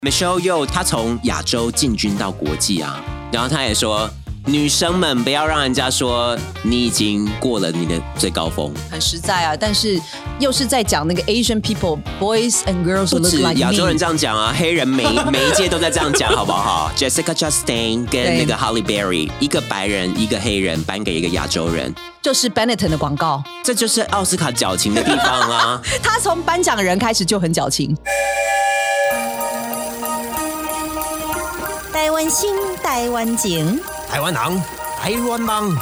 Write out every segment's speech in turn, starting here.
Michelle Yeoh 她从亚洲进军到国际啊，然后她也说，女生们不要让人家说你已经过了你的最高峰， 很实在啊。但是又是在讲那个 Asian people, boys and girls who 不 look 止 like me。 亚洲人这样讲啊，黑人每一届都在这样讲，好不好？Jessica Chastain 跟那个 Halle Berry， 一个白人，一个黑人，颁给一个亚洲人， 就是 Benetton 的广告， 这就是奥斯卡矫情的地方啊。 他从颁奖人开始就很矫情。 台湾心，台湾情， 台湾人，台湾梦。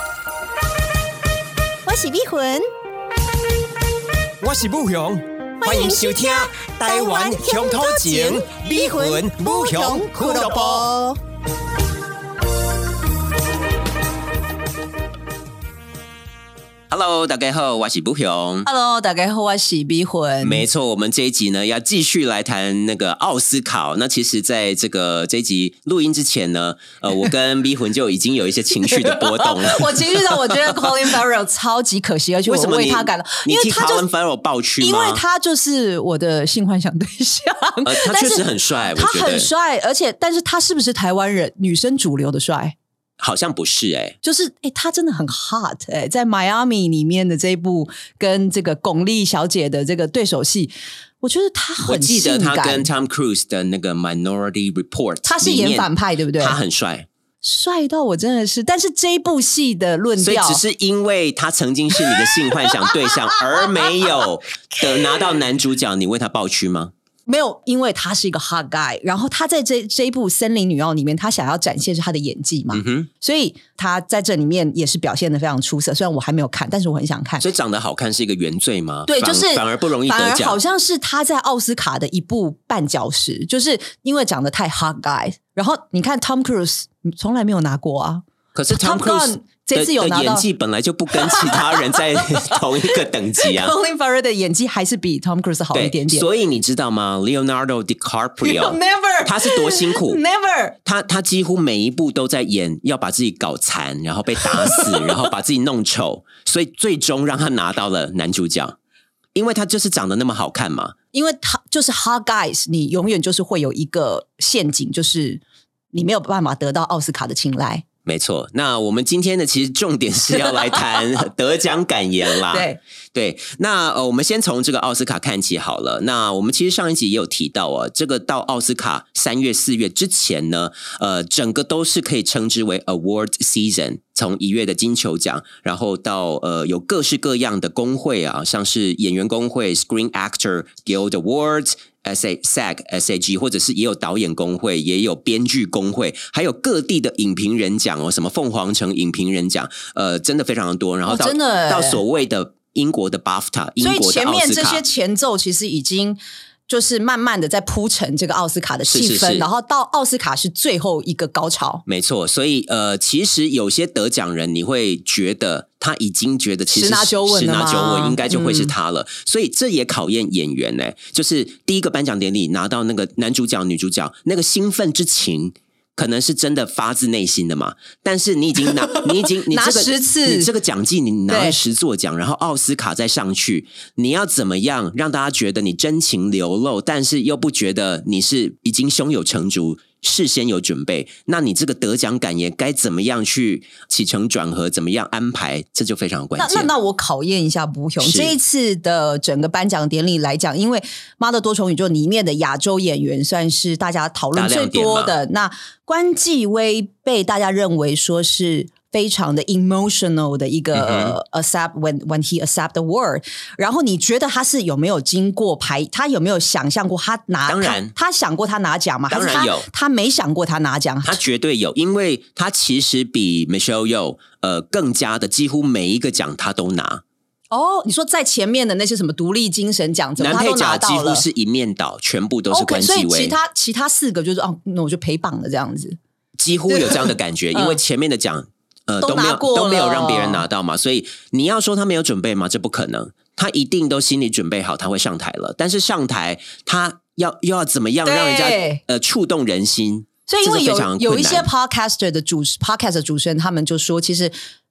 我是美魂， 我是武雄，欢迎收听《台湾乡土情》美魂武雄俱乐部。Hello， 大家好，我是武雄。 Hello， 大家好，我是美魂。 没错，我们这一集呢要继续来谈那个奥斯卡。那其实在这一集录音之前呢，我跟美魂就已经有一些情绪的波动了。 我情绪到我觉得 Colin Farrell 超级可惜，而且我为他感到， 因为他替 Colin Farrell 抱屈吗？ 因为他就是我的性幻想对象。 他确实很帅，我觉得他很帅，但是他是不是台湾人女生主流的帅？ 好像不是就是他真的很 hot 在 Miami 里面的这一部跟这个巩俐小姐的这个对手戏，我觉得他很性感。 我记得他跟 Tom Cruise 的那个 Minority Report， 他是演反派对不对？ 他很帅， 帅到我真的是，但是这一部戏的论调， 所以只是因为他曾经是你的性幻想对象，而没有的拿到男主角，你为他抱屈吗？ 没有，因为他是一个 hot guy， 然后他在这一部《森林女妖》里面，他想要展现是他的演技嘛，所以他在这里面也是表现得非常出色。虽然我还没有看，但是我很想看。 所以长得好看是一个原罪吗？ 对，就是反而不容易得奖， 反而好像是他在奥斯卡的一部绊脚石，就是因为长得太 hot guy。然后你看 Tom Cruise 从来没有拿过啊， 可是 Tom Cruise的演技本来就不跟其他人在同一个等级啊。 Colin Farrell 的演技还是比 Tom Cruise 好一点点。 所以你知道吗 ？Leonardo DiCaprio Never， 他是多辛苦 ，Never， 他几乎每一部都在演要把自己搞残，然后被打死，然后把自己弄丑，所以最终让他拿到了男主角，因为他就是长得那么好看嘛。 因为他就是 hot guys， 你永远就是会有一个陷阱，就是你没有办法得到奥斯卡的青睐。 没错，那我们今天的其实重点是要来谈得奖感言啦。对，那我们先从这个奥斯卡看起好了。那我们其实上一集也有提到这个到奥斯卡3月4月之前呢，整个都是可以称之为 award season。从1月的金球奖，然后到有各式各样的工会啊，像是演员工会 Screen Actor Guild Awards、SAG， 或者是也有导演工会，也有编剧工会，还有各地的影评人奖什么凤凰城影评人奖，真的非常的多。然后到所谓的英国的 BAFTA， 英国的奥斯卡，所以前面这些前奏其实已经就是慢慢的在铺陈这个奥斯卡的气氛，然后到奥斯卡是最后一个高潮。 没错，所以其实有些得奖人你会觉得他已经觉得其实十拿九稳应该就会是他了，所以这也考验演员就是第一个颁奖典礼拿到那个男主角女主角那个兴奋之情可能是真的发自内心的嘛，但是你已经拿10次，你这个奖季你拿了10座奖，然后奥斯卡再上去，你要怎么样让大家觉得你真情流露，但是又不觉得你是已经胸有成竹，事先有准备？那你这个得奖感言该怎么样去起承转合，怎么样安排，这就非常关键。 那我考验一下武雄，这一次的整个颁奖典礼来讲，因为《妈的多重宇宙》里面的亚洲演员算是大家讨论最多的，那关继威被大家认为说是非常的 emotional 的一个accept when he accept the word， 然后你觉得他是有没有经过他有没有想象过他拿？ 当然， 他想过他拿奖吗？ 当然有， 他没想过他拿奖， 他绝对有，因为他其实比 Michelle Yeoh 更加的几乎每一个奖他都拿。 你说在前面的那些什么独立精神奖， 男配角几乎是一面倒，全部都是关继威。 所以其他4个就是那我就陪榜了这样子， 几乎有这样的感觉，因为前面的奖都没有让别人拿到嘛，所以你要说他没有准备吗？这不可能，他一定都心里准备好他会上台了，但是上台他又要怎么样让人家触动人心？ 所以因为有一些 podcast 的主持人他们就说，其实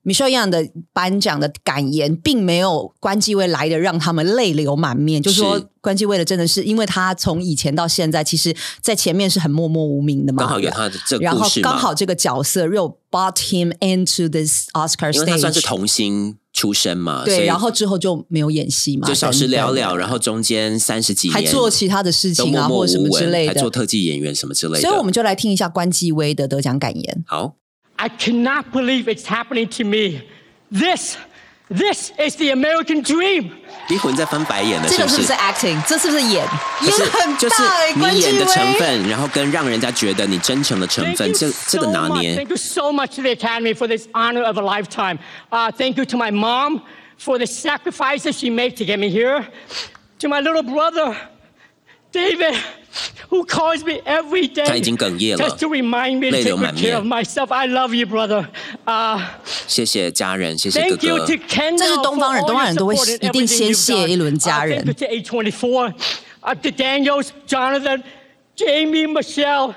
Michelle Yang 的颁奖的感言并没有关继威来的让他们泪流满面，就是说关继威的真的是因为他从以前到现在其实在前面是很默默无名的嘛， 刚好有他的这个故事嘛， 然后刚好这个角色又 brought him into this Oscar stage， 因为他算是童星出身嘛， 对，然后之后就没有演戏嘛， 就小时了了，然后中间30几年还做其他的事情啊，或者什么之类的， 还做特技演员什么之类的， 所以我们就来听一下关继威的得奖感言。 好。 I cannot believe it's happening to me. This is the American dream. 逼魂在翻白眼了， 这个是不是 acting？ 这是不是演很大？ 就是你演的成分，然后跟让人家觉得你真诚的成分，这个拿捏。 Thank you so much to the Academy for this honor of a lifetime. Thank you to my mom for the sacrifices she made to get me here. To my little brother, David.Who calls me every day 他已经哽咽了 just to remind me to take good care of myself. I love you, brother. 谢谢家人，谢谢哥哥。 Thank you to Kendall 这是东方人，东方人都会一定先谢一轮家人。 Thank you to A24, to Daniels, Jonathan, Jamie, Michelle,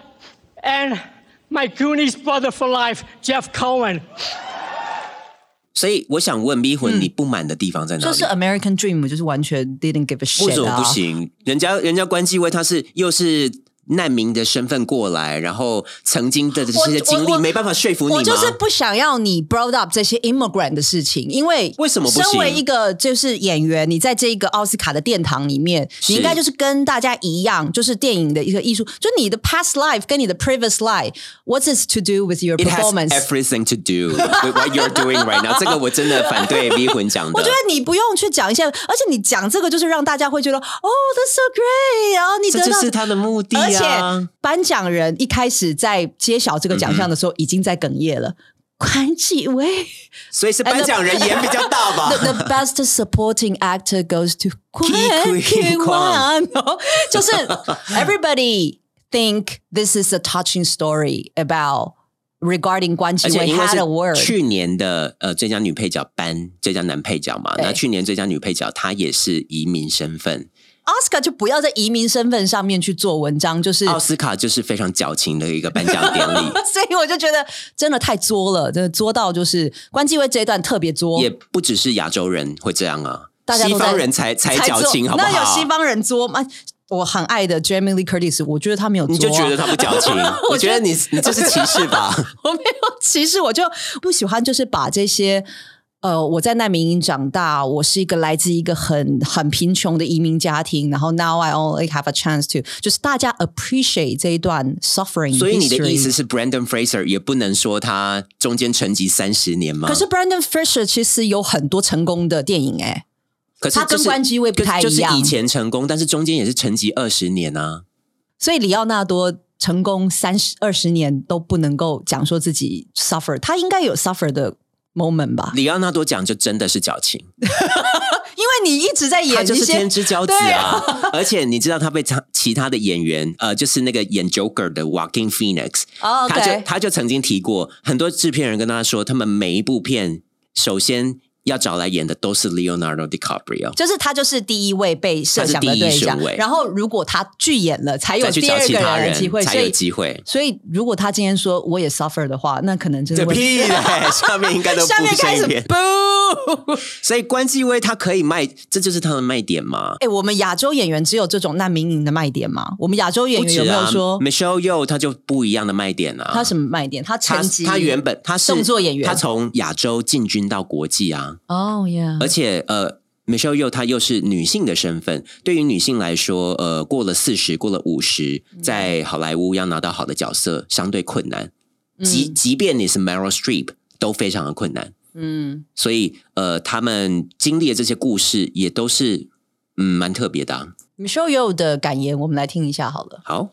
and my Goonies brother for life, Jeff Cohen. 所以我想问逼魂，你不满的地方在哪里？ 就是 American Dream， 就是完全 didn't give a shit 为什么不行？人家关继威他是又是难民的身份过来，然后曾经的这些经历没办法说服你吗？ 我就是不想要你 brought up 这些 immigrant 的事情，因为什么不行？ 身为一个就是演员，你在这个奥斯卡的殿堂里面，你应该就是跟大家一样，就是电影的一个艺术，就你的 past life 跟你的 previous life，what's this to do with your performance? It has everything to do with what you're doing right now. 这个我真的反对逼魂讲的。 我觉得你不用去讲一些，而且你讲这个就是让大家会觉得，哦 ，that's so great， 然后你得到， 这就是他的目的啊。 而且颁奖人一开始在揭晓这个奖项的时候，已经在哽咽了。关继威， 所以是颁奖人演比较大吧。 The best supporting actor goes to 关继威，就是 everybody think this is a touching story about。Regarding 关继威 had a word， 去年的最佳女配角颁最佳男配角嘛，那去年最佳女配角她也是移民身份。 奥斯卡就不要在移民身份上面去做文章，就是奥斯卡就是非常矫情的一个颁奖典礼， 所以我就觉得真的太作了，真的作到就是关继威这一段特别作， 也不只是亚洲人会这样啊， 大家都西方人才矫情，好不好？ 那有西方人作吗？我很爱的 Jamie Lee Curtis， 我觉得他没有作， 你就觉得他不矫情？我觉得你这是歧视吧？ 我没有歧视，我就不喜欢，就是把这些。我在难民营长大，我是一个来自一个很贫穷的移民家庭，然后 now I only have a chance to， 就是大家 appreciate 这一段 suffering。 所以你的意思是 Brendan Fraser 也不能说他中间沉寂30年吗？ 可是 Brendan Fraser 其实有很多成功的电影可是他跟关继威不太一样， 就是以前成功，但是中间也是沉寂20年啊。 所以里奥纳多成功20年都不能够讲说自己 suffer， 他应该有 suffer 的moment 吧？ 里奥纳多讲就真的是矫情， 因为你一直在演， 他就是天之骄子啊！而且你知道他被其他的演员，就是那个演 Joker 的 Joaquin Phoenix，他就曾经提过，很多制片人跟他说，他们每一部片首先要找来演的都是 Leonardo DiCaprio， 就是他就是第一位被设想的对象，然后如果他拒演了，才有第二个人的机会， 才有机会。 所以如果他今天说我也 suffer 的话，那可能真的会屁嘞，下面应该都下面开始不。 所以关继威他可以卖，这就是他的卖点吗？ 我们亚洲演员只有这种难民营的卖点吗？我们亚洲演员有没有说 Michelle Yeoh 他就不一样的卖点啊？ 他什么卖点？他成绩， 他原本他是动作演员， 他从亚洲进军到国际啊。 哦，yeah， 而且Michelle Yeoh 她又是女性的身份，对于女性来说，过了40，过了50，在好莱坞要拿到好的角色相对困难，即便你是 Meryl Streep 都非常的困难。所以他们经历的这些故事也都是蛮特别的啊。 Michelle Yeoh 的感言，我们来听一下好了。 好。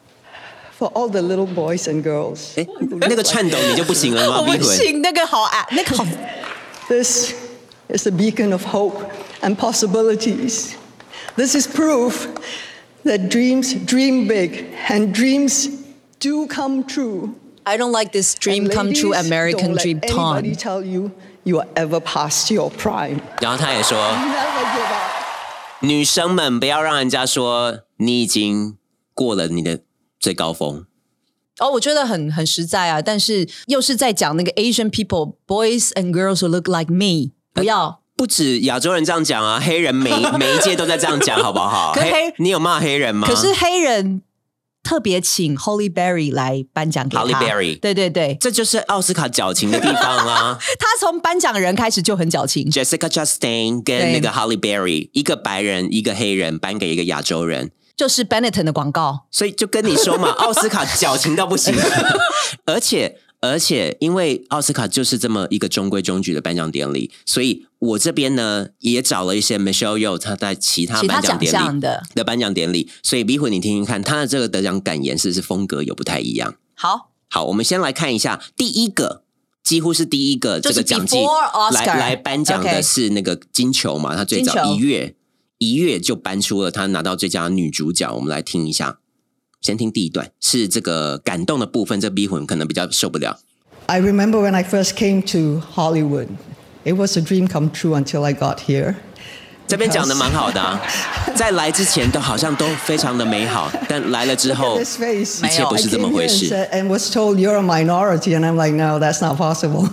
For all the little boys and girls， 那个颤抖你就不行了吗？ 我不行，那个好那个好。 This is a beacon of hope and possibilities. This is proof that dreams dream big and dreams do come true.I don't like this dream come true American dream tone. Don't let anybody tell you you are ever past your prime. 然后他也说，女生们不要让人家说你已经过了你的最高峰。 我觉得很实在啊，但是又是在讲那个 Asian people, boys and girls who look like me， 不要。 不止亚洲人这样讲啊，黑人每一届都在这样讲，好不好？你有骂黑人吗？ 可是黑人特别请 Halle Berry 来颁奖给他。 Halle Berry， 对对对， 这就是奥斯卡矫情的地方啊。 他从颁奖人开始就很矫情。 Jessica Chastain 跟那个 Halle Berry， 一个白人一个黑人颁给一个亚洲人， 就是 Benetton 的广告。 所以就跟你说嘛，奥斯卡矫情到不行。而且因为奥斯卡就是这么一个中规中矩的颁奖典礼，所以我这边呢也找了一些 Michelle Yeoh 他在其他颁奖典礼的颁奖典礼，所以 B 魂你听听看他的这个得奖感言是不是风格有不太一样。 好， 我们先来看一下第一个，几乎是第一个这个奖季来颁奖的是那个金球嘛，他最早一月就颁出了他拿到最佳女主角。我们来听一下，先听第一段，是这个感动的部分，这 B 魂可能比较受不了。 I remember when I first came to Hollywood, it was a dream come true until I got here. 这边讲的蛮好的啊，在来之前都好像都非常的美好，但来了之后，一切不是这么回事。 And was told you're a minority, and I'm like, no, that's not possible.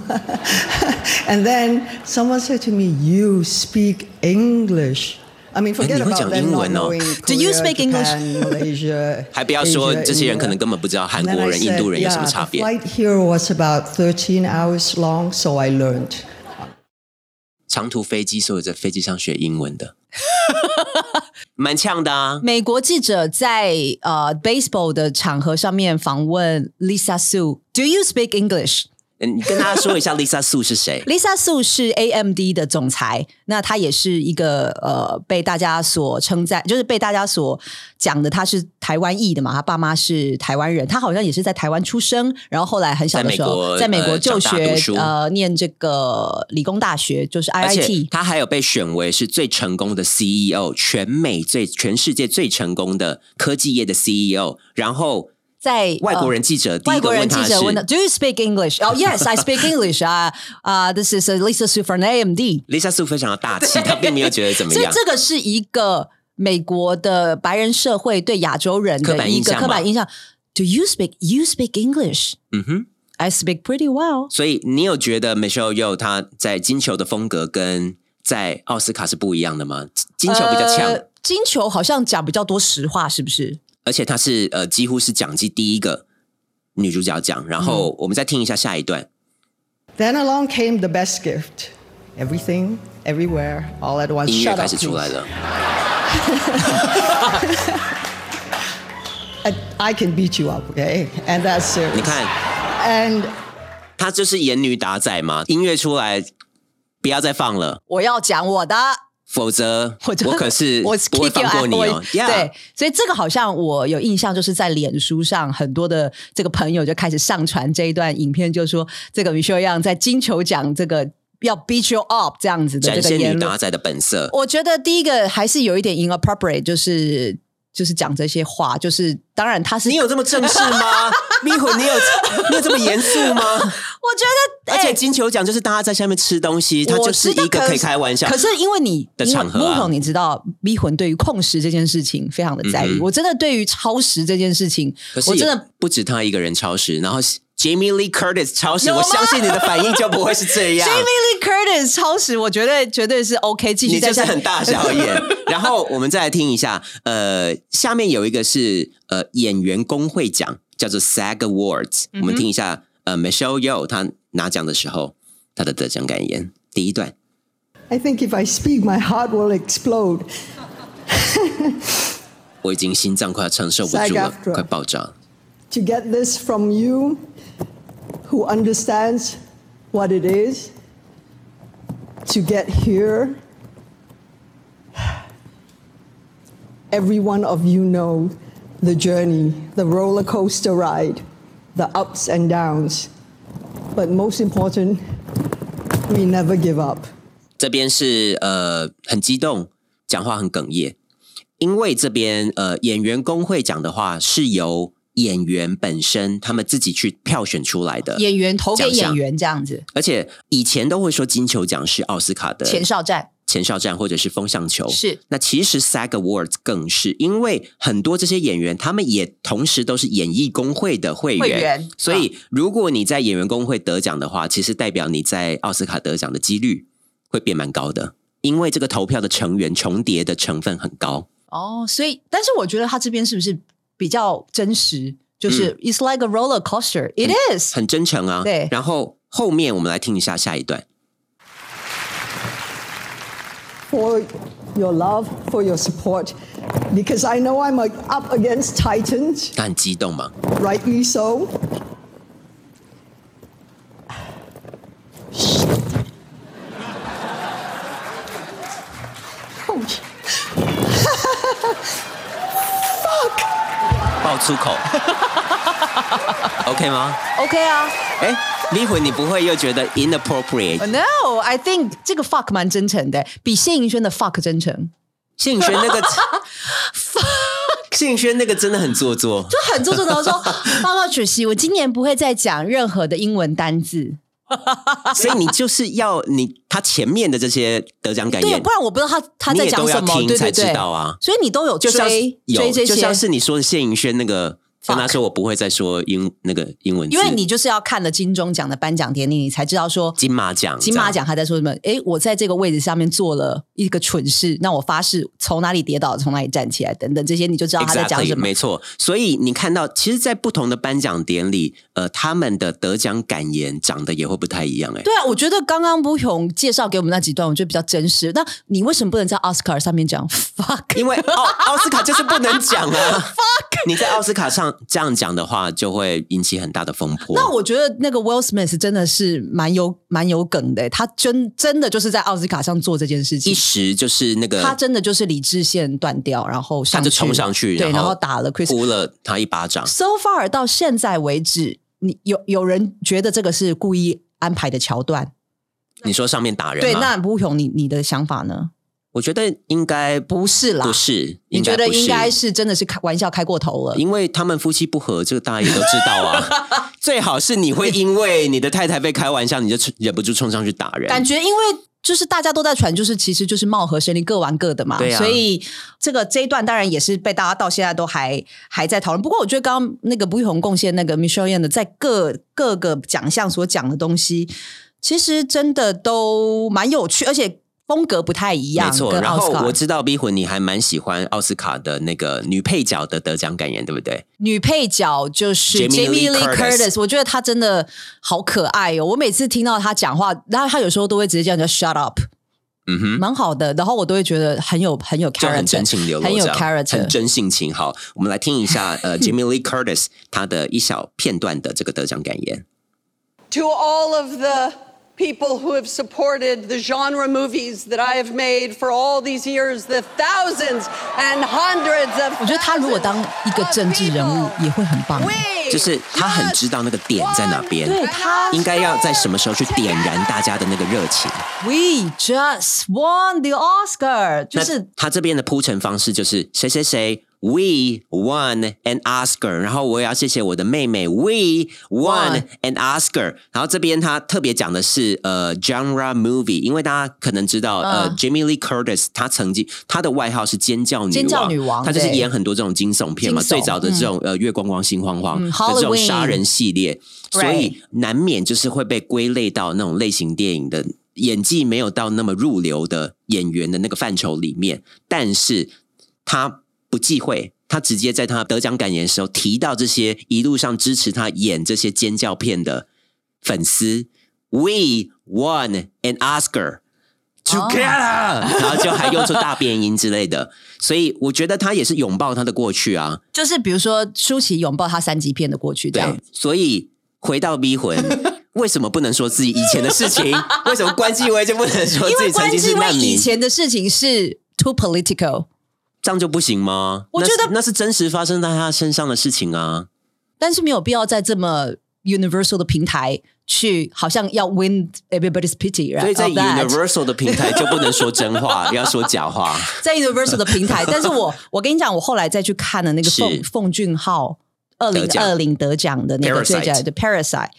And then someone said to me, "You speak English." I mean, forget about them not knowing Korea, Do you speak English? Japan, Malaysia, 还不要说这些人可能根本不知道韩国人、印度人有什么差别。 The flight here was about 13 hours long, so I learned. 长途飞机，所以在飞机上学英文的，蛮呛的啊。 美国记者在baseball 的场合上面访问 Lisa Su，Do you speak English？ 你跟大家说一下 Lisa Su 是谁 ？Lisa Su 是 AMD 的总裁，那她也是一个被大家所称赞，就是被大家所讲的，她是台湾裔的嘛，她爸妈是台湾人，她好像也是在台湾出生，然后后来很小的时候在美国就学念这个理工大学，就是 IIT， 而且她还有被选为是最成功的 CEO， 全世界最成功的科技业的 CEO， 然后。在外国人记者第一个问他是 Do you speak English? Oh yes, I speak English. This is Lisa Su from AMD. Lisa Su 非常的大气，她并没有觉得怎么样。 所以这个是一个美国的白人社会对亚洲人的一个刻板印象。Do you speak English? I speak pretty well. 所以你有觉得 Michelle Yeoh 她在金球的风格跟在奥斯卡是不一样的吗？金球比较强， 金球好像讲比较多实话，是不是？ 而且她是几乎是奖季第一个女主角奖，然后我们再听一下下一段。 Then along came the best gift. Everything, everywhere, all at once. 音乐开始出来了。 I can beat you up, okay? And that's serious. 你看 ，And 她就是演女打仔嘛，音乐出来不要再放了， 我要讲我的。 否则我可是不会放过你哦。 对，所以这个好像我有印象，就是在脸书上很多的这个朋友就开始上传这一段影片，就说这个 Michelle Yeoh 在金球奖这个要 beat you up 这样子的这个言论， 展现女打仔的本色。 我觉得第一个还是有一点 inappropriate，就是讲这些话，就是当然他是你有这么正式吗？咪魂，你有这么严肃吗？ 我觉得， 而且金球奖就是大家在下面吃东西，它就是一个可以开玩笑。 可是因为你的场合啊， 你知道咪魂对于控时这件事情非常的在意。我真的对于超时这件事情，我真的不止他一个人超时，然后Jamie Lee Curtis 超时，我相信你的反应就不会是这样。 Jamie Lee Curtis 超时，我绝对是 OK， 继续在你就是很大小眼。然后我们再来听一下，下面有一个是演员工会奖，叫做 SAG Awards。我们听一下Michelle Yeoh 她拿奖的时候她的得奖感言，第一段。 I think if I speak, my heart will explode. 我已经心脏快要承受不住了，快爆炸了。 To get this from you, who understands what it is to get here, every one of you know the journey, the roller coaster ride, the ups and downs. But most important, we never give up. 这边是很激动，讲话很哽咽，因为这边演员工会奖的话是由演员本身他们自己去票选出来的， 演员投给演员这样子。 而且以前都会说金球奖是奥斯卡的前哨前哨战或者是风向球。 是， 那其实 SAG Awards 更是，因为很多这些演员他们也同时都是演艺工会的会员，所以如果你在演员工会得奖的话，其实代表你在奥斯卡得奖的几率会变蛮高的，因为这个投票的成员重叠的成分很高。 所以但是我觉得他这边是不是比较真实，就是 It's like a roller coaster. It is 很真诚啊。 对， 然后后面我们来听一下下一段。 For your love, for your support, because I know I'm up against titans. 他很激动吗？ Rightly so. Fuck! 爆粗口OK 吗 OK 啊。 迷魂你不会又觉得 inappropriate？ No, I think 这个 fuck 蛮真诚的，比谢盈萱的 fuck 真诚。 谢盈萱那个谢盈萱那个真的很做作， 就很做作的说报告主席，我今年不会再讲任何的英文单字。 所以你就是要他前面的这些得奖感言， 对，不然我不知道他在讲什么， 你也都要听才知道啊。 所以你都有追这些， 就像是你说的谢盈萱那个。跟他说我不会再说那个英文字， 因为你就是要看了金钟奖的颁奖典礼，你才知道说金马奖他在说什么。我在这个位置上面做了一个蠢事，那我发誓从哪里跌倒从哪里站起来等等，这些你就知道他在讲什么。 没错，所以你看到其实在不同的颁奖典礼他们的得奖感言长得也会不太一样。 对啊，我觉得刚刚不雄介绍给我们那几段我觉得比较真实。那你为什么不能在奥斯卡上面讲 fuck？ 因为奥斯卡就是不能讲啊fuck， 你在奥斯卡上这样讲的话就会引起很大的风波。 那我觉得那个 Will Smith 真的是蛮有梗的，他真的就是在奥斯卡上做这件事情， 一时就是那个他真的就是理智线断掉，然后他就冲上去， 对，然后打了 Chris， 呼了他一巴掌。 So far 到现在为止，你有人觉得这个是故意安排的桥段？ 你说上面打人吗？ 对，那不雄你的想法呢？ 我觉得应该不是啦， 不是， 你觉得应该是真的是玩笑开过头了？ 因为他们夫妻不和，这个大家也都知道啊。最好是你会因为你的太太被开玩笑，你就忍不住冲上去打人。 感觉因为就是大家都在传，就是其实就是貌合神离，各玩各的嘛。 对啊， 所以这一段当然也是被大家到现在都还在讨论。不过我觉得刚刚那个不玉红贡献那个 Michelle Yeoh 的在各个奖项所讲的东西，其实真的都蛮有趣，而且风格不太一样。 没错，然后我知道逼魂你还蛮喜欢奥斯卡的那个女配角的得奖感言，对不对？ 女配角就是 Jamie Lee Curtis， 我觉得她真的好可爱哦。我每次听到她讲话，然后她有时候都会直接这样叫 shut up， 蛮好的，然后我都会觉得很有 character， 就很真情流露， 很有 character， 很真性情。好，我们来听一下Jamie Lee Curtis 她的一小片段的这个得奖感言。 To all of the people who have supported the genre movies that I have made for all these years, the thousands and hundreds of 我觉得他如果当一个政治人物也会很棒， 就是他很知道那个点在哪边， 对，他应该要在什么时候去点燃大家的那个热情。 We just won the Oscar， 就是他这边的铺陈方式就是谁谁谁We won an Oscar， 然后我也要谢谢我的妹妹 We won an Oscar， 然后这边他特别讲的是genre movie， 因为大家可能知道Jamie Lee Curtis 他曾经他的外号是尖叫女王，他就是演很多这种惊悚片嘛，最早的这种月光光心慌慌的这种杀人系列，所以难免就是会被归类到那种类型电影的演技没有到那么入流的演员的那个范畴里面，但是他不忌讳，他直接在他得奖感言的时候提到这些一路上支持他演这些尖叫片的粉丝 We won an Oscar together，然后就还用出大变音之类的，所以我觉得他也是拥抱他的过去啊， 就是比如说舒淇拥抱他3级片的过去这样。 对，所以回到逼魂为什么不能说自己以前的事情？为什么关继威就不能说自己曾经是难民？因为关继威以前的事情是 too political， 这样就不行吗？ 我觉得那是真实发生在他身上的事情啊， 但是没有必要在这么 universal 的平台去好像要 win everybody's pity， 所以在 universal 的平台就不能说真话要说假话。 在 universal 的平台但是我跟你讲，我后来再去看了那个奉俊昊2020得奖的那个最佳的 Parasite，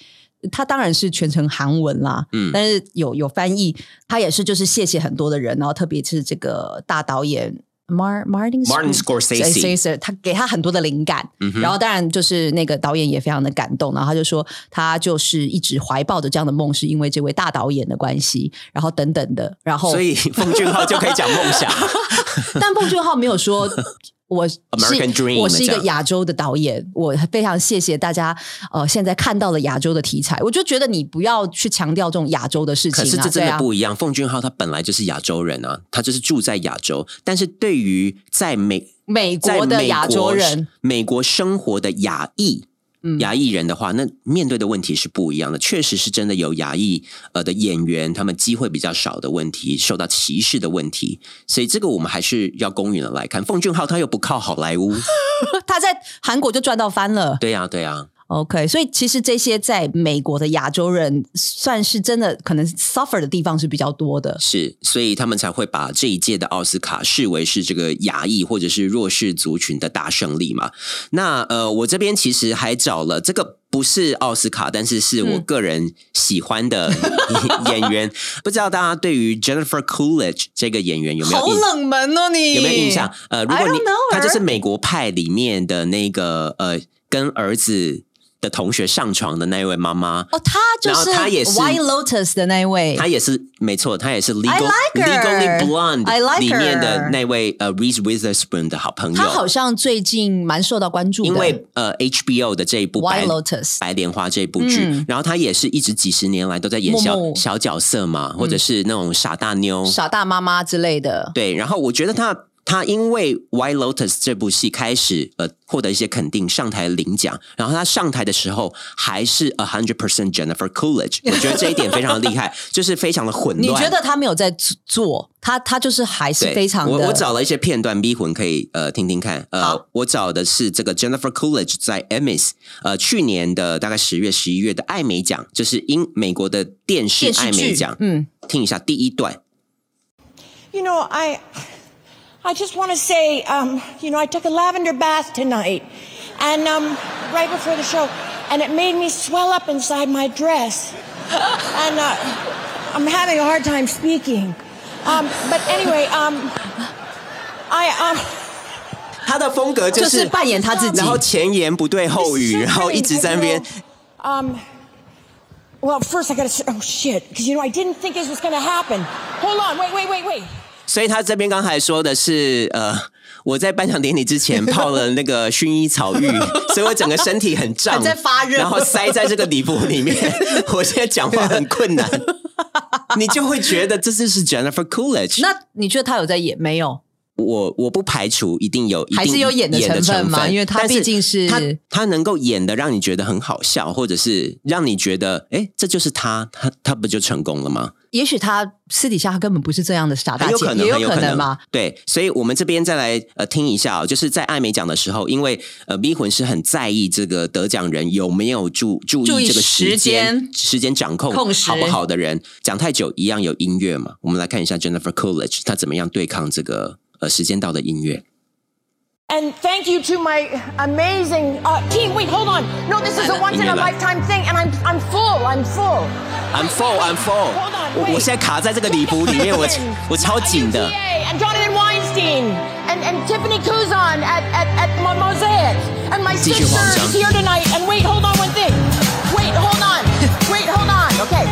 他当然是全程韩文啦，但是有翻译，他也是就是谢谢很多的人，然后特别是这个大导演。Martin Scorsese 他给他很多的灵感，然后当然就是那个导演也非常的感动，然后他就说他就是一直怀抱着这样的梦，是因为这位大导演的关系，然后等等的，然后所以奉俊昊就可以讲梦想， 但奉俊昊没有说。我是一个亚洲的导演，我非常谢谢大家现在看到了亚洲的题材，我就觉得你不要去强调这种亚洲的事情啊。 可是这真的不一样，奉俊昊他本来就是亚洲人啊，他就是住在亚洲，但是对于在美国的亚洲人， 美国生活的亚裔人的话，那面对的问题是不一样的，确实是真的有亚裔的演员他们机会比较少的问题，受到歧视的问题，所以这个我们还是要公允的来看。奉俊昊他又不靠好莱坞他在韩国就赚到翻了。 对啊对啊， OK， 所以其实这些在美国的亚洲人算是真的可能 suffer 的地方是比较多的， 是，所以他们才会把这一届的奥斯卡视为是这个亚裔或者是弱势族群的大胜利嘛。那我这边其实还找了这个不是奥斯卡，但是是我个人喜欢的演员，不知道大家对于 Jennifer Coolidge 这个演员有没有好冷门哦，你有没有印象？如果你他就是美国派里面的那个跟儿子的同学上床的那一位妈妈哦，她就是他也是 White Lotus 的那一位， 她也是没错，她也是 Legally Blonde 里面的那位Reese Witherspoon 的好朋友。 她好像最近蛮受到关注的， 因为HBO 的这一部 White Lotus 白莲花这部剧，然后她也是一直几十年来都在演小角色嘛，或者是那种傻大妞、 傻大妈妈之类的。 对，然后我觉得他因为 White Lotus 这部戏开始获得一些肯定，上台领奖，然后他上台的时候还是 100% Jennifer Coolidge， 我觉得这一点非常的厉害，就是非常的混乱。 你觉得他没有在做，他就是还是非常的。 我找了一些片段，逼魂可以听听看。我找的是这个 Jennifer Coolidge 在 Emmys 去年的大概10月11月的艾美奖，就是美国的电视艾美奖。听一下第一段。 You know, I just want to say, you know, I took a lavender bath tonight, and right before the show, and it made me swell up inside my dress, and I'm having a hard time speaking. But anyway, 他的风格就是扮演他自己， 然后前言不对后语，然后一直在那边。 Well, first I gotta say, oh shit, because you know I didn't think this was gonna happen. Hold on, wait. 所以他这边刚才说的是我在颁奖典礼之前泡了那个薰衣草浴，所以我整个身体很胀， 在发热， 然后塞在这个礼服里面，我现在讲话很困难。你就会觉得这就是 Jennifer Coolidge。 那你觉得他有在演没有？ 我不排除一定有， 还是有演的成分嘛？因为他毕竟是他能够演的让你觉得很好笑，或者是让你觉得这就是他不就成功了吗？ 也许他私底下他根本不是这样的傻大姐， 也有可能嘛。 对，所以我们这边再来听一下就是在艾美奖的时候，因为逼魂是很在意这个得奖人有没有注意这个时间掌控好不好的人，讲太久一样有音乐嘛。我们来看一下 Jennifer Coolidge 她怎么样对抗这个时间到的音乐。 And thank you to my amazing team. Wait, hold on. No, this is a once-in-a-lifetime thing, and I'm full. I'm full. Hold on. 我现在卡在这个礼服里面，我超紧的。 And Jonathan Weinstein and Tiffany Kuzan at Mosaic. And my sister is here tonight. And wait, hold on one thing. Wait, hold on. Okay.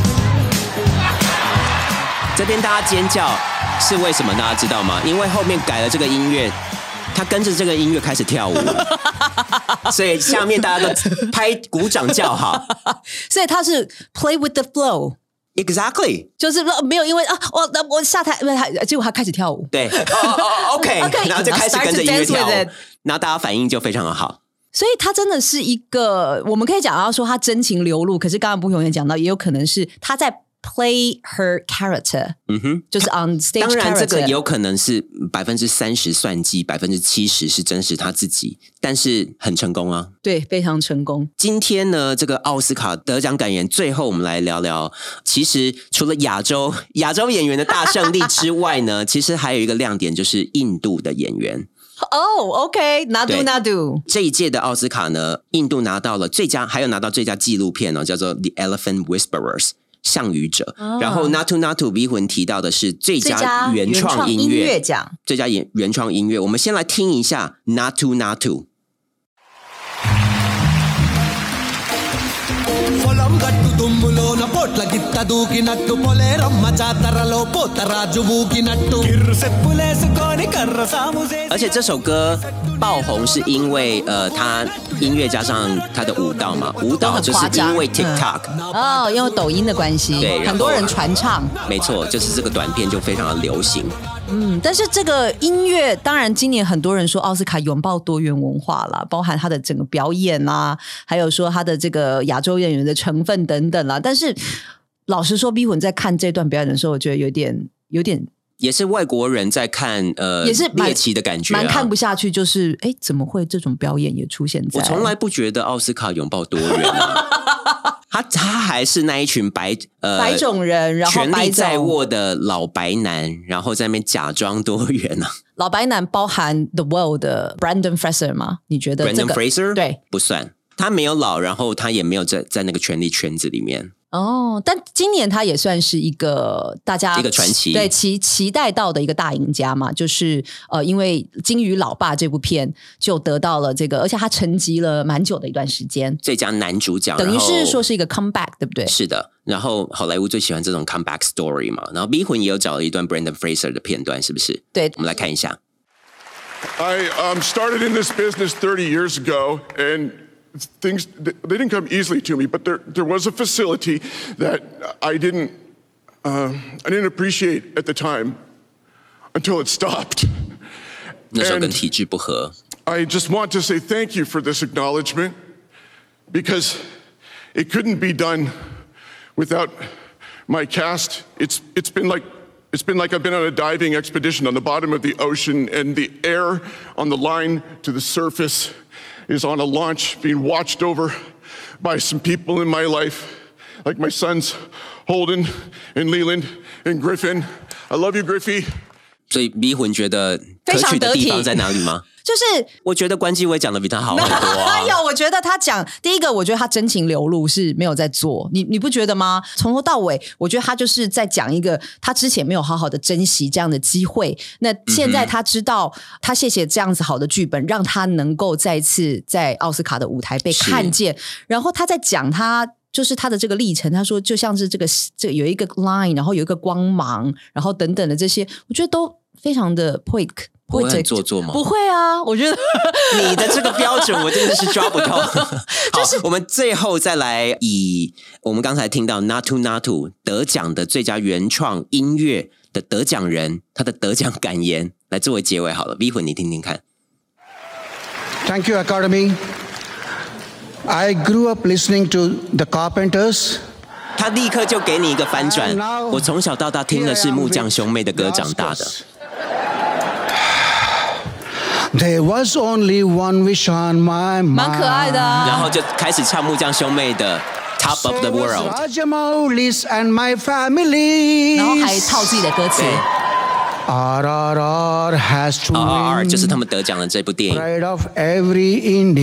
这边大家尖叫是为什么？大家知道吗？因为后面改了这个音乐。他跟着这个音乐开始跳舞，所以下面大家都拍鼓掌叫好。 所以他是 play with the flow， exactly， 就是没有因为我下台，结果他开始跳舞。 对，OK， 然后就开始跟着音乐跳舞，然后大家反应就非常的好。 所以他真的是一个，我们可以讲到说他真情流露，可是刚刚不永远讲到，也有可能是他在。Play her character， 就是 on stage character。 当然，这个有可能是30%算计，70%是真实他自己，但是很成功啊。 对，非常成功。 今天呢，这个奥斯卡得奖感言，最后我们来聊聊。其实除了亚洲演员的大胜利之外呢，其实还有一个亮点，就是印度的演员。 OK， Nadu Nadu。 这一届的奥斯卡呢，印度拿到了最佳，还有拿到最佳纪录片叫做 The Elephant Whisperers。象语者，然后 Natu Natu V 魂提到的是最佳原创音乐奖， 最佳原创音乐。我们先来听一下 Natu Natu。而且这首歌爆红是因为他音乐加上他的舞蹈嘛，舞蹈就是因为 TikTok 因为抖音的关系， 对， 很多人传唱， 没错，就是这个短片就非常的流行。 但是这个音乐，当然今年很多人说奥斯卡拥抱多元文化啦，包含他的整个表演啦，还有说他的这个亚洲演员的成分等等啦。但是老实说，逼魂在看这段表演的时候，我觉得有点。 也是外国人在看也是猎奇的感觉蛮看不下去，就是怎么会这种表演也出现在？ 我从来不觉得奥斯卡拥抱多元他还是那一群白种人，然后权力在握的老白男，然后在那边假装多元啊。 老白男包含 The World 的 Brendan Fraser 吗？你觉得这个 Brendan Fraser 对不算，他没有老，然后他也没有在那个权力圈子里面。 但今年他也算是一个大家一个传奇， 对期待到的一个大赢家嘛，就是因为《金鱼老爸》这部片就得到了这个，而且他沉寂了蛮久的一段时间， 最佳男主角， 等于是说是一个 comeback， 对不对？ 是的。然后好莱坞最喜欢这种 comeback story 嘛，然后 B 魂也有找了一段 Brendan Fraser 的片段，是不是？ 对， 我们来看一下。 I started in this business 30 years ago, and things they didn't come easily to me, but there was a facility that I didn't appreciate at the time until it stopped. 那时候跟体制不合。 I just want to say thank you for this acknowledgement, because it couldn't be done without my cast. It's been like I've been on a diving expedition on the bottom of the ocean, and the air on the line to the surface is on a launch being watched over by some people in my life, like my sons Holden and Leland and Griffin. I love you, Griffey. 所以迷魂觉得可取的地方在哪里吗？ 就是我觉得关继威讲的比他好很多啊。 有，我觉得他讲第一个，我觉得他真情流露是没有在做，你不觉得吗？从头到尾，我觉得他就是在讲一个他之前没有好好的珍惜这样的机会，那现在他知道，他谢谢这样子好的剧本，让他能够再次在奥斯卡的舞台被看见，然后他在讲他。就是他的这个历程，他说就像是这个有一个 line， 然后有一个光芒，然后等等的这些，我觉得都非常的 poetic。 不会很做作吗？ 不会啊，我觉得你的这个标准我真的是抓不到。就是好，我们最后再来以我们刚才听到 Natu Natu 得奖的最佳原创音乐的得奖人他的得奖感言来作为结尾好了。V 魂你听听看。 Thank you, Academy.I grew up listening to the Carpenters. 他立刻就给你一个翻转。我从小到大听的是木匠兄妹的歌长大的。 There was only one wish on my mind. 蛮可爱的啊。 然后就开始唱木匠兄妹的 Top of the World. Rajamoulis and my family. 然后还套自己的歌词。 RRR has to RRR win. 就是他们得奖的这部电影。 Pride of every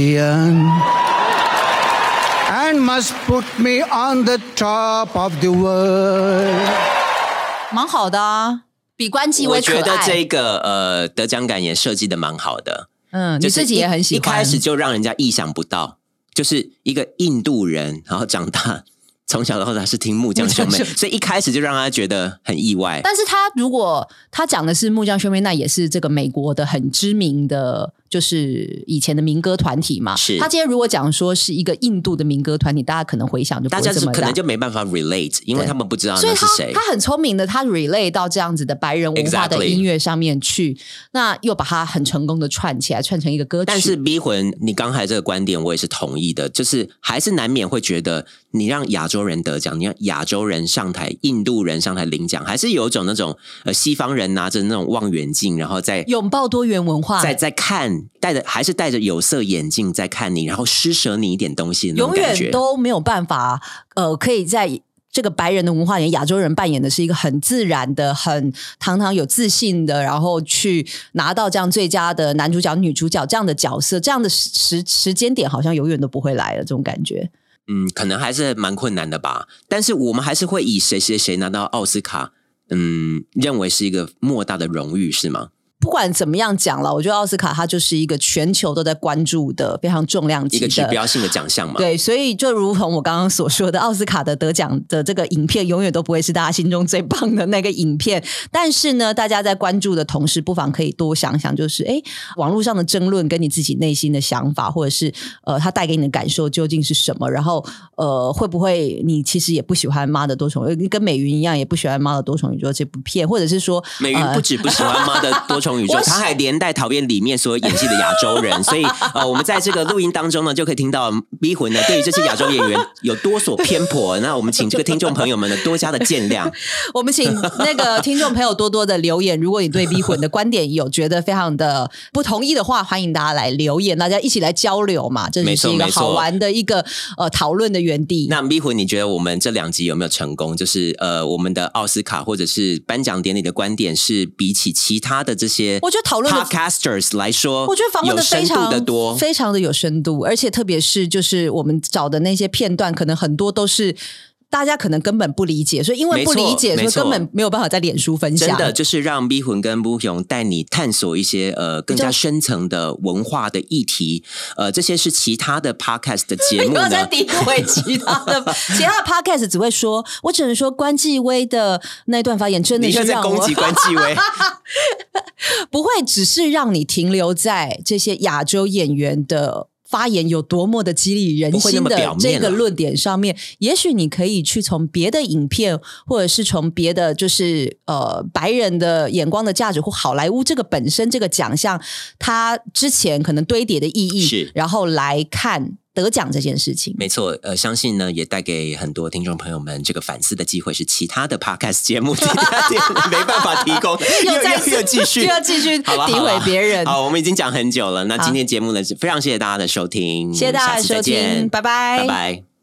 Indian.And must put me on the top of the world. 蛮好的啊，比关继威可爱。 我觉得这个得奖感也设计的蛮好的。 你自己也很喜欢。 一开始就让人家意想不到，就是一个印度人，然后长大。从小到大是听木匠兄妹，所以一开始就让他觉得很意外。 但是他如果他讲的是木匠兄妹，那也是这个美国的很知名的，就是以前的民歌团体嘛。 是他今天如果讲说是一个印度的民歌团体，大家可能回想就不会这么大， 大家可能就没办法 relate， 因为他们不知道那是谁。 所以他很聪明的，他 relate 到这样子的白人文化的音乐上面去，那又把它很成功的串起来，串成一个歌曲。 但是逼魂，你刚才这个观点我也是同意的，就是还是难免会觉得你让亚洲人得奖，你让亚洲人上台，印度人上台领奖，还是有种那种西方人拿着那种望远镜，然后在拥抱多元文化， 在看，还是戴着有色眼镜在看你，然后施舍你一点东西的那种感觉， 永远都没有办法可以在这个白人的文化里，亚洲人扮演的是一个很自然的、很堂堂有自信的，然后去拿到这样最佳的男主角、女主角这样的角色，这样的时间点好像永远都不会来了，这种感觉。 可能还是蛮困难的吧。但是我们还是会以谁谁谁拿到奥斯卡，认为是一个莫大的荣誉，是吗？ 不管怎么样讲了，我觉得奥斯卡它就是一个全球都在关注的非常重量级的一个指标性的奖项嘛。 对，所以就如同我刚刚所说的，奥斯卡的得奖的这个影片永远都不会是大家心中最棒的那个影片。但是呢，大家在关注的同时，不妨可以多想想，就是网络上的争论跟你自己内心的想法，或者是它带给你的感受究竟是什么？然后会不会你其实也不喜欢《妈的多重宇宙》，跟美云一样也不喜欢《妈的多重宇宙》这部片，或者是说美云不止不喜欢《妈的多重宇宙》他还连带讨厌里面所有演戏的亚洲人，所以我们在这个录音当中呢，就可以听到逼魂呢对于这些亚洲演员有多所偏颇。那我们请这个听众朋友们呢多加的见谅。 我们请那个听众朋友多多的留言，如果你对逼魂的观点有觉得非常的不同意的话，欢迎大家来留言，大家一起来交流嘛，这是一个好玩的一个讨论的园地。 那逼魂，你觉得我们这2集有没有成功？就是我们的奥斯卡或者是颁奖典礼的观点是比起其他的这些， 我觉得讨论的 podcasters 来说， 我觉得访问的非常的多， 非常的有深度，而且特别是就是我们找的那些片段，可能很多都是大家可能根本不理解，所以因为不理解，所以根本没有办法在脸书分享。 真的就是让逼魂跟不勇带你探索一些更加深层的文化的议题。这些是其他的 podcast 的节目呢，不要再诋毁其他的podcast 只会说，我只能说关继威的那段发言真的是让我你在攻击关继威不会只是让你停留在这些亚洲演员的发言有多么的激励人心的这个论点上面，也许你可以去从别的影片，或者是从别的就是白人的眼光的价值，或好莱坞这个本身这个奖项它之前可能堆叠的意义，然后来看得奖这件事情。 没错，相信呢也带给很多听众朋友们这个反思的机会，是其他的 podcast 节目没办法提供，又继续诋毁别人。好，我们已经讲很久了，那今天节目呢非常谢谢大家的收听， 谢谢大家的收听，拜拜， 拜拜。